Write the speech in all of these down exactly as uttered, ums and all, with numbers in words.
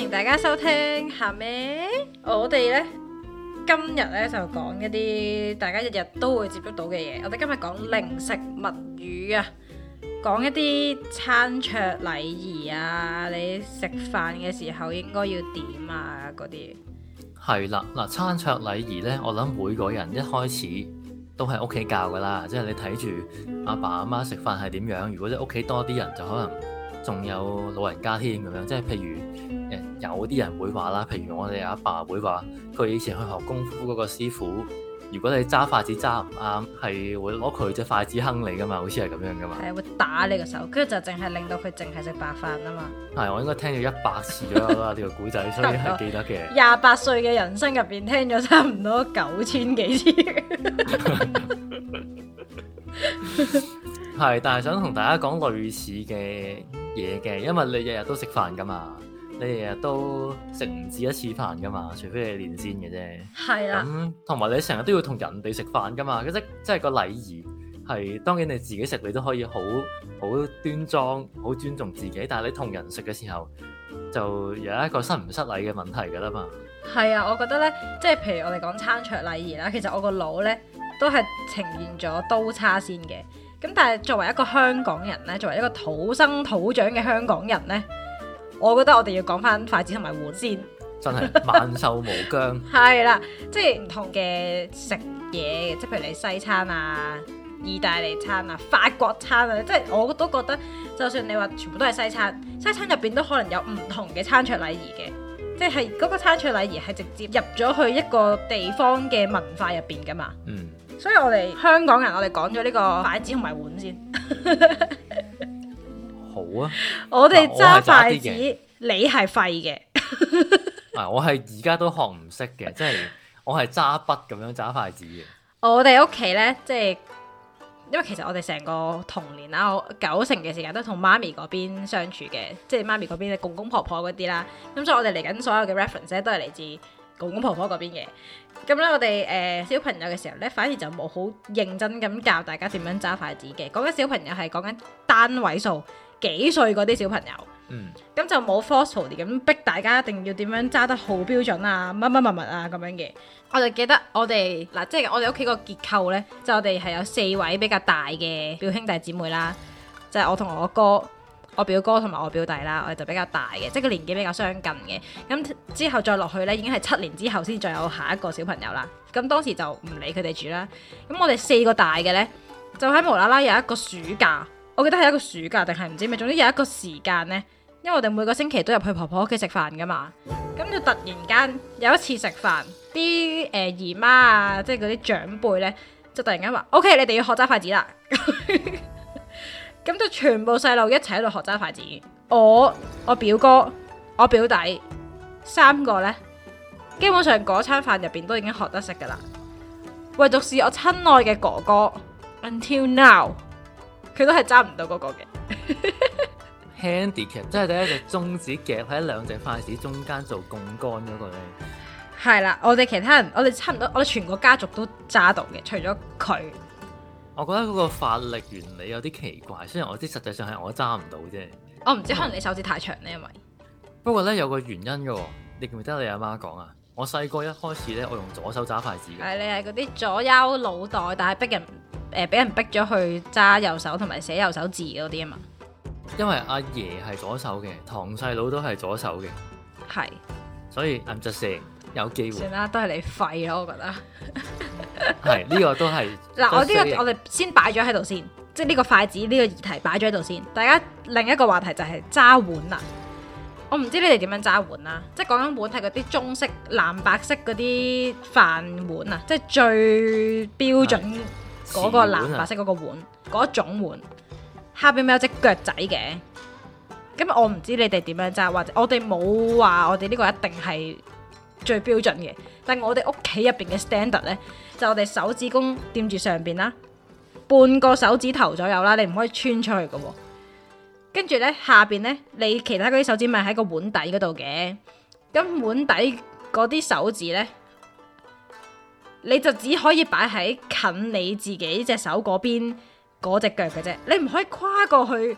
迎大家收聽下咩？我哋呢，今日呢就講一啲大家日日都會接觸到嘅嘢。我哋今日講零食物語啊，講一啲餐桌禮儀啊，你食飯嘅時候應該要點啊嗰啲。係啦，嗱，餐桌禮儀呢，我諗每個人一開始都係屋企教噶啦，即係你睇住阿爸阿媽食飯係點樣。如果你屋企多啲人，就可能仲有老人家添咁樣。即係譬如誒，有啲人會話啦，譬如我哋阿爸會話，佢以前去學功夫嗰個師傅，如果你揸筷子揸唔啱，係會攞佢隻筷子坑你噶嘛，好似係咁樣噶嘛。係會打你個手，跟住就淨係令到佢淨係食白飯啊嘛。係，我應該聽咗一百次咗啦呢個古仔，所以係記得嘅。廿八歲嘅人生入邊聽咗差唔多九千幾次。係，但係想同大家講類似嘅嘢嘅，因為你日日都食飯噶嘛，你日日都食唔止一次飯噶嘛，除非你練先嘅啫。係啦。咁同埋你成日都要同人哋食飯噶嘛，即即係個禮儀係，當然你自己食你都可以好好端莊、好尊重自己，但係你同人食嘅時候就有一個失唔失禮嘅問題噶啦嘛。係啊，我覺得咧，即係譬如我哋講餐桌禮儀啦，其實我個腦咧都係呈現咗刀叉先嘅。咁但係作為一個香港人咧，作為一個土生土長嘅香港人咧，我覺得我哋要講翻筷子同埋碗先。真係萬壽無疆。係啦，即係唔同嘅食嘢，即係譬如你西餐啊、意大利餐啊、法國餐啊，即係我都覺得，就算你話全部都係西餐，西餐入邊都可能有唔同嘅餐桌禮儀嘅，即係嗰個餐桌禮儀係直接入咗去一個地方嘅文化入邊噶嘛。嗯。所以我哋香港人，我哋講咗呢個筷子同埋碗先。好啊。我哋揸筷子，你係廢嘅。啊，我係而家都學唔識嘅，即係我係揸筆咁樣揸筷子嘅。我哋屋企呢，即係因為其實我哋成個童年啦，我九成嘅時間都同媽咪嗰邊相處嘅，即係媽咪嗰邊嘅公公婆婆嗰啲啦。咁所以我哋嚟緊所有嘅 reference 咧，都係嚟自公公婆婆嗰邊嘅。咁咧，我哋誒、呃、小朋友嘅時候咧，反而就冇好認真咁教大家點樣揸筷子嘅。講緊小朋友係講緊單位數幾歲嗰啲小朋友，嗯，咁就冇 forcefully 咁逼大家一定要點樣揸得好標準啊，乜乜乜乜啊咁樣嘅。我就記得我哋嗱，即係我哋屋企個結構咧，就我哋係有四位比較大嘅表兄弟姊妹啦，就係、是、我同我哥。我表哥同埋我表弟啦，我哋就比較大嘅，即係個年紀比較相近嘅。咁之後再落去呢，已經係七年之後先再有下一個小朋友啦。咁當時就唔理佢哋住啦。咁我哋四個大嘅呢，就喺無啦啦有一個暑假，我記得係一個暑假定係唔知咩，總之有一個時間呢，因為我哋每個星期都入去婆婆屋企食飯噶嘛。咁就突然間有一次食飯，啲誒、呃、姨媽啊，即係嗰啲長輩呢，就突然間話：OK，你哋要學揸筷子啦。咁就全部細路一齊喺度學揸筷子，我、我表哥、我表弟三個呢，基本上嗰餐飯入邊都已經學得識噶啦。唯獨是我親愛嘅哥哥 ，until now，佢都係揸唔到嗰個嘅。Handicap 即係第一隻中指夾喺兩隻筷子中間做槓桿嗰個呢。係啦，我哋其他人，我哋差唔多，我哋全個家族都揸到嘅，除咗佢。我覺得嗰個發力原理有啲奇怪，雖然我知實際上係我揸唔到啫。我唔知可能你手指太長呢，因為不過咧有個原因嘅，你記唔記得你阿媽講啊？我細個一開始咧，我用左手揸筷子嘅。係，你係嗰啲左優腦袋，但係逼人誒俾、呃、人逼咗去揸右手同埋寫右手字嗰啲啊嘛。因為阿爺係左手嘅，堂細佬都係左手嘅，係，所以 I'm just saying 有機會。算啦，都係你廢咯，我覺得。係呢、這個都係嗱，我呢、這個我哋先擺咗喺度先，即係呢個筷子呢、這個議題擺咗喺度先。大家另一個話題就係揸碗啦。我唔知你哋點樣揸碗啦，即係講緊碗係嗰啲中式藍白色嗰啲飯碗啊，即係最標準嗰個藍白色嗰個碗嗰、啊、種碗，下邊咪有隻腳仔嘅。咁我唔知你哋點樣揸，或者我哋冇話我哋呢個一定係最標準嘅，但係我哋屋企入邊嘅 standard 呢，就我哋手指公掂住上邊啦，半個手指頭左右啦，你唔可以穿出去嘅。跟住呢，下邊呢，你其他嗰啲手指咪喺個碗底嗰度嘅，咁碗底嗰啲手指呢，你就只可以擺喺近你自己隻手嗰邊嗰隻腳嘅啫，你唔可以跨過去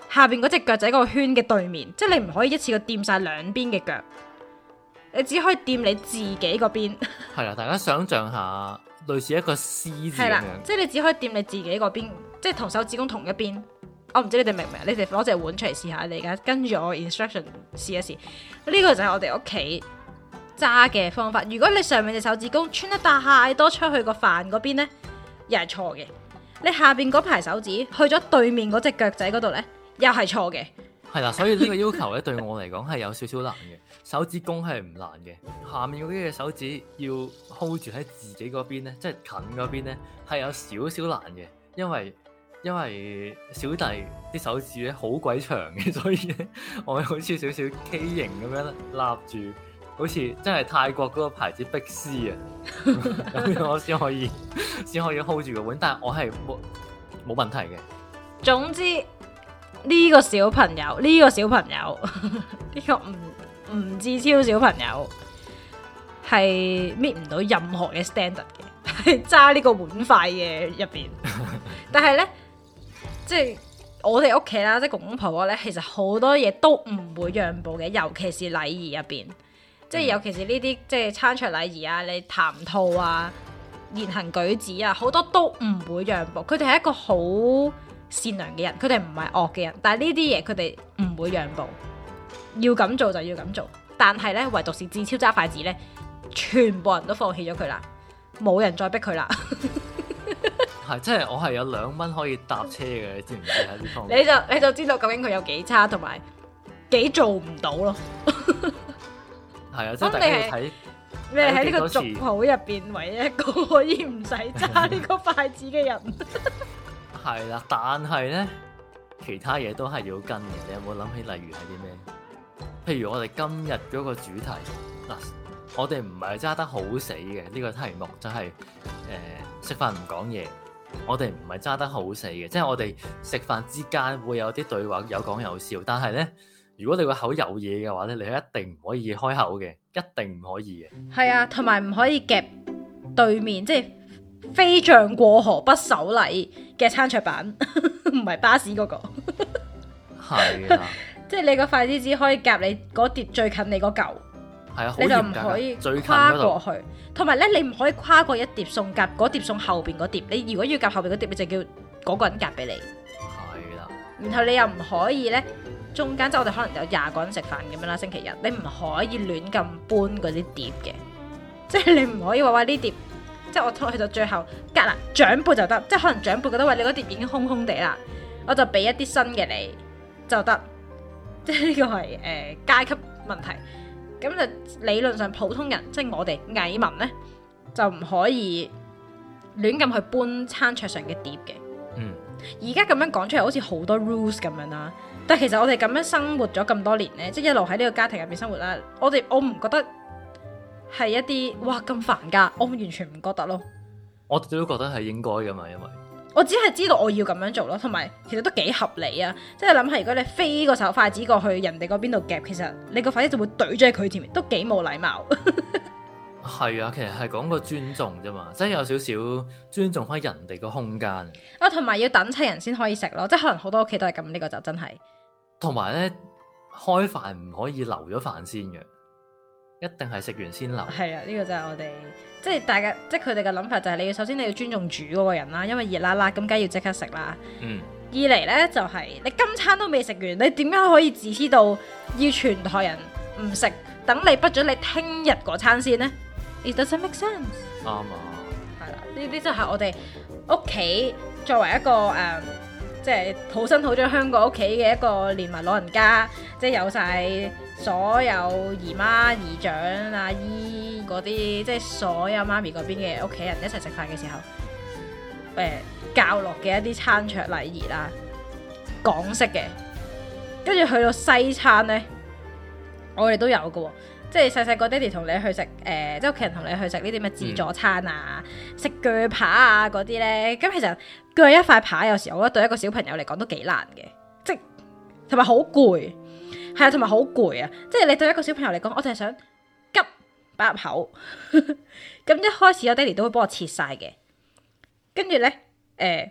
下邊嗰隻腳仔嗰個圈嘅對面，即係你唔可以一次過掂晒兩邊嘅腳，你只可以掂你自己嗰邊。係啦，大家想象下，類似一個 C 字咁樣， 即係你只可以掂你自己嗰邊，即係同手指公同一邊。我唔知你哋明唔明？你哋攞隻碗出嚟試下，你而家跟住我 instruction 試一試。呢、這個就係我哋屋企揸嘅方法。如果你上面隻手指公穿得太多出去個飯嗰邊呢，又係錯嘅。你下邊嗰排手指去咗對面嗰隻腳仔嗰度呢，又係錯嘅。 係啦，所以呢個要求咧對我嚟講係有少少難嘅。手指公係唔難嘅，下面嗰啲嘅手指要 hold 住喺自己嗰邊呢，即係近嗰邊呢，係有少少難嘅，因為。因為小弟啲手指咧好鬼長嘅，所以咧我好似少少 K 型咁樣立住，好似真係泰國嗰個牌子碧絲啊，咁樣我先可以先可以 hold 住個碗，但係我係冇冇問題嘅。 總之呢個小朋友呢個小朋友呢個吳吳志超小朋友係搣唔到任何嘅 standard 嘅，係揸呢個碗筷嘅入邊，但係咧。即係我哋屋企啦，即係公公婆婆咧，其實好多嘢都唔會讓步嘅，尤其是禮儀入邊，即係尤其是呢啲即係餐桌禮儀啊，你談吐啊、言行舉止啊，好多都唔會讓步。佢哋係一個好善良嘅人，佢哋唔係惡嘅人，但係呢啲嘢佢哋唔會讓步，要咁做就要咁做。但係咧，唯獨是志超揸筷子咧，全部人都放棄咗佢啦，冇人再逼佢啦。 係，即係我係有兩蚊可以搭車嘅，你知唔知喺呢方面？ 你就你就知道究竟佢有幾差，同埋幾做唔到咯。 係啊，即係大家要睇你係喺呢個族譜入邊唯一一個可以唔使揸呢個筷子嘅人。 係啦，但係咧，其他嘢都係要跟嘅。你有冇諗起例如係啲咩？譬如我哋今日嗰個主題嗱，我哋唔係揸得好死嘅呢個題目，就係誒食飯唔講嘢。我哋唔係揸得好死嘅，即係我哋食飯之間會有啲對話，有講有笑。但係咧，如果你個口有嘢嘅話咧，你係一定唔可以開口嘅，一定唔可以嘅。 係啊，同埋唔可以夾對面，即係飛象過河不守禮嘅餐桌板，唔係巴士嗰個。 係啊， 即係你個筷子只可以夾你嗰碟最近你嗰嚿。 係啊， 你就唔可以跨過去，同埋咧你唔可以跨過一碟餸夾嗰碟餸後邊嗰碟。你如果要夾後邊嗰碟，你就叫嗰個人夾俾你。 係啦。 然後你又唔可以咧中間，即係我哋可能有廿個人食飯咁樣啦，星期日你唔可以亂咁搬嗰啲碟嘅，即係你唔可以話話呢碟，即係我拖去到最後隔啦長輩就得，即係可能長輩覺得喂你嗰碟已經空空地啦，我就俾一啲新嘅你就得，即係呢個係誒、呃、階級問題。咁就理論上普通人，即係我哋蟻民呢，就唔可以亂咁去搬餐桌上嘅碟嘅。 嗯， 而家咁樣講出嚟好似好多 rules 咁樣啦，但係其實我哋咁樣生活咗咁多年呢，即係一路喺呢個家庭入邊生活啦，我哋我唔覺得係一啲哇咁煩噶，我完全唔覺得咯。 我哋都覺得係應該噶嘛，因為我只係知道我要咁樣做咯，同埋其實都幾合理啊！即係諗下，如果你飛個手筷子過去人哋嗰邊度夾，其實你個筷子就會懟咗喺佢前面，都幾冇禮貌。 係啊，其實係講個尊重啫嘛，即係有少少尊重翻人哋個空間。 啊，同埋要等齊人先可以食咯，即係可能好多屋企都係咁，呢個就真係。 同埋咧，開飯唔可以留咗飯先嘅，一定係食完先留。 係啊，呢個就係我哋。即係大家，即係佢哋嘅諗法就係你要首先你要尊重煮嗰個人啦，因為熱辣辣咁，梗係要即刻食啦。 嗯。二嚟呢，就係、是、你今餐都未食完，你點解可以自私到要全台人唔食，等你不准你聽日嗰餐先呢？ It doesn't make sense。 啱啊。 係啦，呢啲就係我哋屋企作為一個誒、呃，即係土生土長香港屋企嘅一個連埋老人家，即係有晒所有姨媽姨丈阿姨。嗰啲即係所有媽咪嗰邊嘅屋企人一齊食飯嘅時候，誒、呃、教落嘅一啲餐桌禮儀啦，港式嘅，跟住去到西餐呢，我哋都有嘅喎，即係細細個爹哋同你去食，誒、呃、即係屋企人同你去食呢啲咩自助餐啊，食鋸扒啊嗰啲呢。咁其實鋸一塊扒有時候我覺得對一個小朋友嚟講都幾難嘅，即係同埋好攰，係啊，同埋好攰啊，即係你對一個小朋友嚟講，我就係想急擺入口，咁一開始我爹哋都會幫我切晒嘅，跟住咧，誒、呃，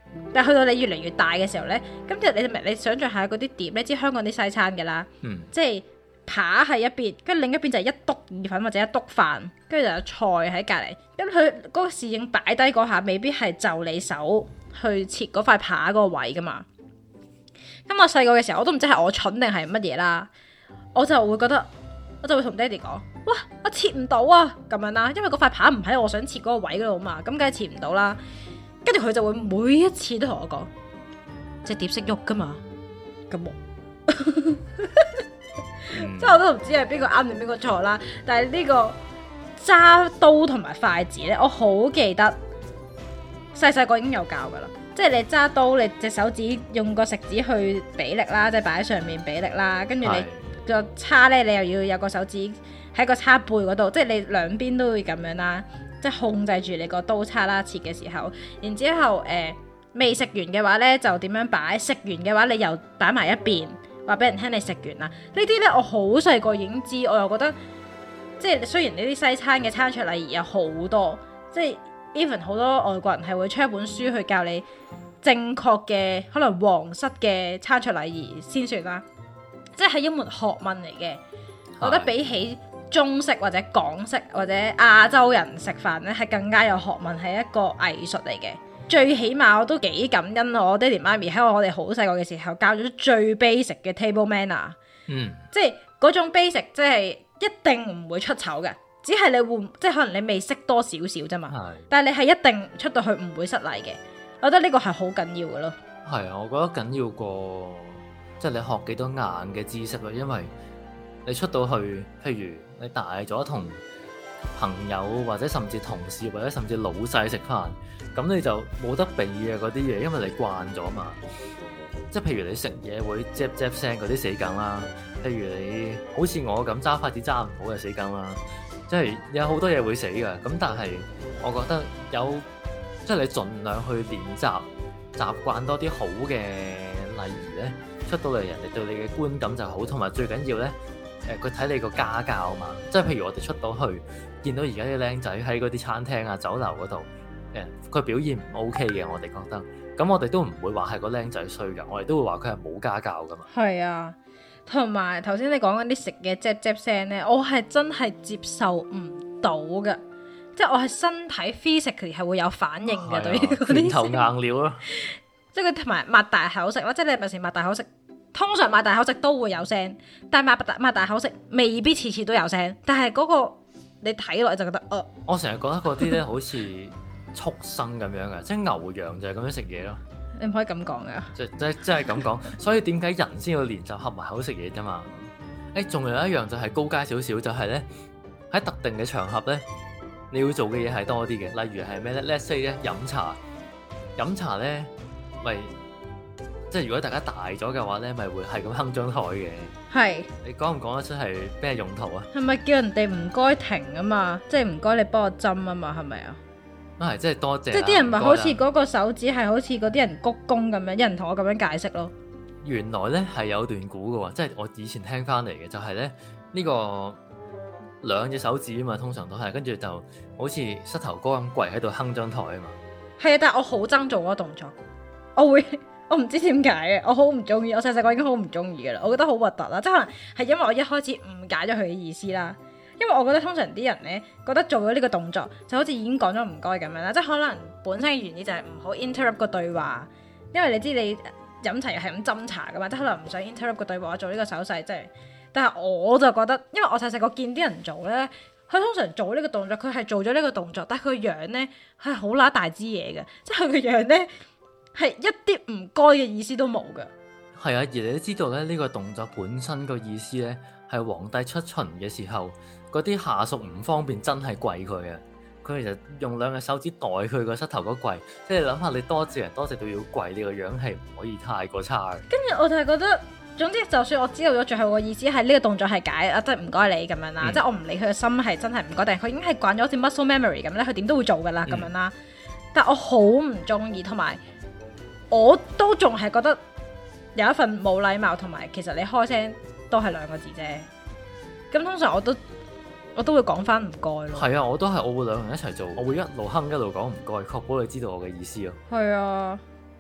但係去到你越嚟越大嘅時候咧，咁就你明你想象下嗰啲碟，你知香港啲西餐㗎啦，嗯、即係扒喺一邊，跟住另一邊就係一篤意粉或者一篤飯，跟住就有菜喺隔離。咁佢嗰個侍應擺低嗰下，未必係就你手去切嗰塊扒嗰個位㗎嘛。咁我細個嘅時候，我都唔知係我蠢定係乜嘢啦，我就會覺得，我就會同爹哋講，哇，我切唔到啊咁樣啦，因為嗰塊扒唔喺我想切嗰個位嗰度嘛，咁梗係切唔到啦。跟住佢就會每一次都同我講，隻碟識喐噶嘛，咁我，即係我都唔知係邊個啱定邊個錯啦。但係呢個揸刀同埋筷子咧，我好記得細細個已經有教噶啦。即係你揸刀，你隻手指用個食指去俾力啦，即係擺喺上面俾力啦。跟住你個叉咧，你又要有個手指喺個叉背嗰度，即係你兩邊都會咁樣啦。即係控制住你個刀叉啦，切嘅時候，然之後誒未食完嘅話呢，就點樣擺？食完嘅話，你又擺埋一邊，話俾人聽你食完啦。呢啲呢，我好細個已經知，我又覺得即係雖然呢啲西餐嘅餐桌禮儀有好多，即係 even 好多外國人係會出一本書去教你正確嘅可能皇室嘅餐桌禮儀先算啦，即係一門學問嚟嘅。我覺得比起中式或者港式或者亞洲人食飯咧，係更加有學問，係一個藝術嚟嘅。最起碼我都幾感恩我爹哋媽咪喺我哋好細個嘅時候教咗最 basic 嘅 table manner。嗯，即係嗰種 basic，即係一定唔會出醜嘅，只係你會即係可能你未識多少少啫嘛。係，但係你係一定出到去唔會失禮嘅。我覺得呢個係好緊要嘅咯。係啊，我覺得緊要過即係你學幾多硬嘅知識咯，因為你出到去，譬如你大咗同朋友或者甚至同事或者甚至老細食飯，咁你就冇得避嘅嗰啲嘢，因為你慣咗嘛。即係譬如你食嘢會嚼嚼聲嗰啲死梗啦，譬如你好似我咁揸筷子揸唔好嘅死梗啦，即係有好多嘢會死㗎。咁但係我覺得有即係你盡量去練習習慣多啲好嘅禮儀咧，出到嚟人哋對你嘅觀感就好，同埋最緊要咧。誒佢睇你個家教嘛，即係譬如我哋出到去見到而家啲僆仔喺嗰啲餐廳啊、酒樓嗰度，誒佢表現唔 OK 嘅，我哋覺得，咁我哋都唔會話係個僆仔衰㗎，我哋都會話佢係冇家教㗎嘛。係啊，同埋頭先你講嗰啲食嘢啫啫聲咧，我係真係接受唔到㗎，即係我係身體 physically 係會有反應嘅、啊、對於嗰啲。拳頭硬料咯，即係佢同埋擘大口食咯，即係你平時擘大口食。通常擘大口食都會有聲，但係擘大擘大口食未必次次都有聲。但係嗰個你睇落就覺得，呃、我成日覺得嗰啲咧好似畜生咁樣嘅，即係牛羊就係咁樣食嘢咯。你唔可以咁講噶，即即即係咁講。所以點解人先要練習合埋口食嘢啫嘛？誒、欸，仲有一樣就係高階少少，就係咧喺特定嘅場合咧，你要做嘅嘢係多啲嘅。例如係咩咧 ？Let's say 咧飲茶，飲茶咧咪。即係如果大家大咗嘅話咧，咪會係咁哼張台嘅。係是。你講唔講得出係咩用途啊？係咪叫人哋唔該停啊嘛？即係唔該你幫我針啊嘛？係咪啊？啊係，即係多謝。即係啲人咪好似嗰個手指係好似嗰啲人鞠躬咁樣，有人同我咁樣解釋咯。原來咧係有段古嘅喎，即係我以前聽翻嚟嘅，就係咧呢個兩隻手指啊嘛，通常都係跟住就好似膝頭哥咁跪喺度哼張台啊嘛。係啊，但係我好憎做嗰個動作，我會。我唔知點解嘅，我好唔中意。我細細個已經好唔中意嘅啦，我覺得好核突啦。即係可能係因為我一開始誤解咗佢嘅意思啦。因為我覺得通常啲人咧覺得做咗呢個動作就好似已經講咗唔該咁樣啦。即係可能本身嘅原意就係唔好 interrupt 個對話，因為你知你飲茶又係咁斟茶噶嘛，即係可能唔想 interrupt 個對話，做呢個手勢即係。但係我就覺得，因為我細細個見啲人做咧，佢通常做呢個動作，佢係做咗呢個動作，但係佢樣咧係好乸大支嘢嘅，即係佢個樣咧。係一啲唔該嘅意思都冇噶。係啊，而你都知道咧，呢個動作本身個意思咧，係皇帝出巡嘅時候，嗰啲下屬唔方便真係跪佢啊。佢哋就用兩個手指代佢個膝頭哥跪，即係諗下你多謝人多謝到要跪，你個樣係唔可以太過差嘅。跟住我就係覺得，總之就算我知道咗最後個意思係呢個動作係解啊，即係唔該你咁樣啦，嗯、即係我唔理佢嘅心係真係唔該，定係佢已經係慣咗好似 muscle memory 咁咧，佢點都會做噶啦咁樣啦。嗯、但我好唔中意，同埋。我都仲係覺得有一份冇禮貌，同埋其實你開聲都係兩個字啫。咁通常我都我都會講翻唔該咯。係啊，我都係我會兩個人一齊做，我會一路哼一路講唔該，確保你知道我嘅意思咯。係啊，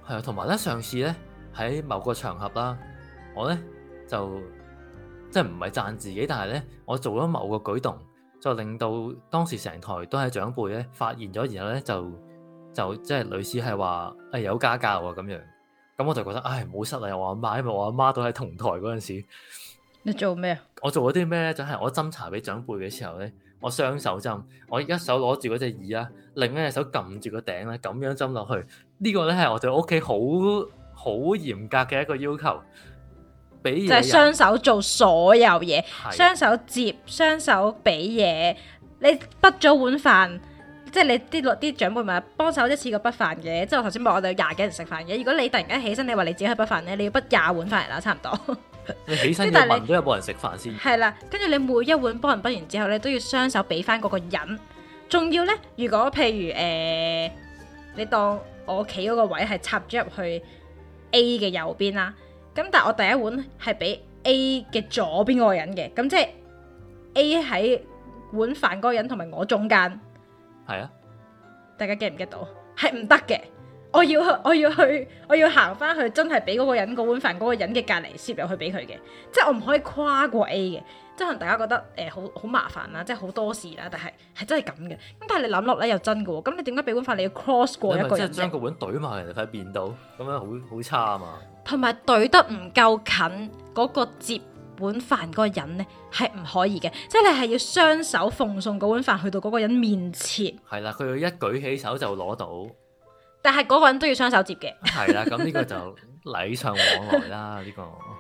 係啊，同埋咧上次咧喺某個場合啦，我咧就即係唔係讚自己，但係咧我做咗某個舉動，就令到當時成台都係長輩咧發現咗，然後咧就就即係類似係話誒有家教啊咁樣。咁我就覺得唉唔好失禮我阿媽，因為我阿媽都喺同台嗰陣時。 你做咩啊？ 我做咗啲咩咧？就係、是、我斟茶俾長輩嘅時候咧，我雙手斟，我一手攞住嗰隻耳啦，另一隻手撳住個頂咧，咁樣斟落去。這個、呢個咧係我哋屋企好好嚴格嘅一個要求，俾就係雙手做所有嘢，雙手接，雙手俾嘢。你畢咗碗飯，即係你啲啲長輩咪幫手一次過畢飯嘅。即係我頭先話我哋有廿幾人食飯嘅。如果你突然間起身，你話你自己去畢飯咧，你要畢廿碗飯嚟啦，差唔多。 你起身要問都有冇人食飯先？係啦， 跟住你每一碗幫人畢完之後咧，都要雙手俾翻嗰個人。仲要咧，如果譬如誒、呃，你當我企嗰個位係插咗入去 A 嘅右邊啦，咁但係我第一碗係俾 A 嘅左邊嗰個人嘅，咁即係 A 喺碗飯嗰個人同埋我中間。係啊，大家 get 唔 get 到？係唔得嘅。我要去，我要去，我要行翻去，真係俾嗰個人嗰碗飯嗰個人嘅隔離攝入去俾佢嘅，即係我唔可以跨過 A 嘅，即係可能大家覺得誒好好麻煩啦，即係好多事啦，但係係真係咁嘅。咁但係你諗落咧又真嘅喎，咁你點解俾碗飯你要 cross 過一個人？即係將個碗懟埋人哋塊面度，咁樣好好差啊嘛。同埋懟得唔夠近嗰個接碗飯嗰個人咧係唔可以嘅，即係你係要雙手奉送嗰碗飯去到嗰個人面前。係啦，佢要一舉起手就攞到。但係嗰個人都要雙手接嘅。係啦，咁呢個就禮尚往來啦，呢個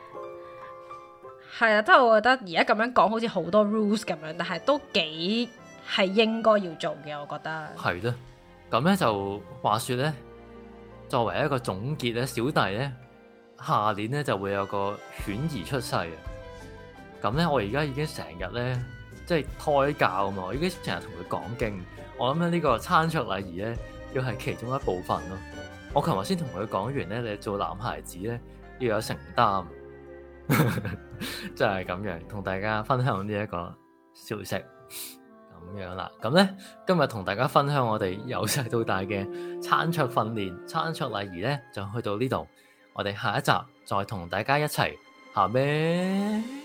係啊，即係我覺得而家咁樣講好似好多 rules 咁樣，但係都幾係應該要做嘅，我覺得係咯。咁咧就話說咧，作為一個總結咧，小弟咧下年咧就會有個犬兒出世啊。咁咧我而家已經成日咧即係胎教啊嘛，我已經成日同佢講經。我諗咧呢個餐桌禮儀咧，要係其中一部分咯。我琴日先同佢講完咧，你做男孩子咧要有承擔，就係咁樣同大家分享呢一個消息咁樣啦。咁咧今日同大家分享我哋由細到大嘅餐桌訓練、餐桌禮儀咧，就去到呢度。我哋下一集再同大家一齊下咩？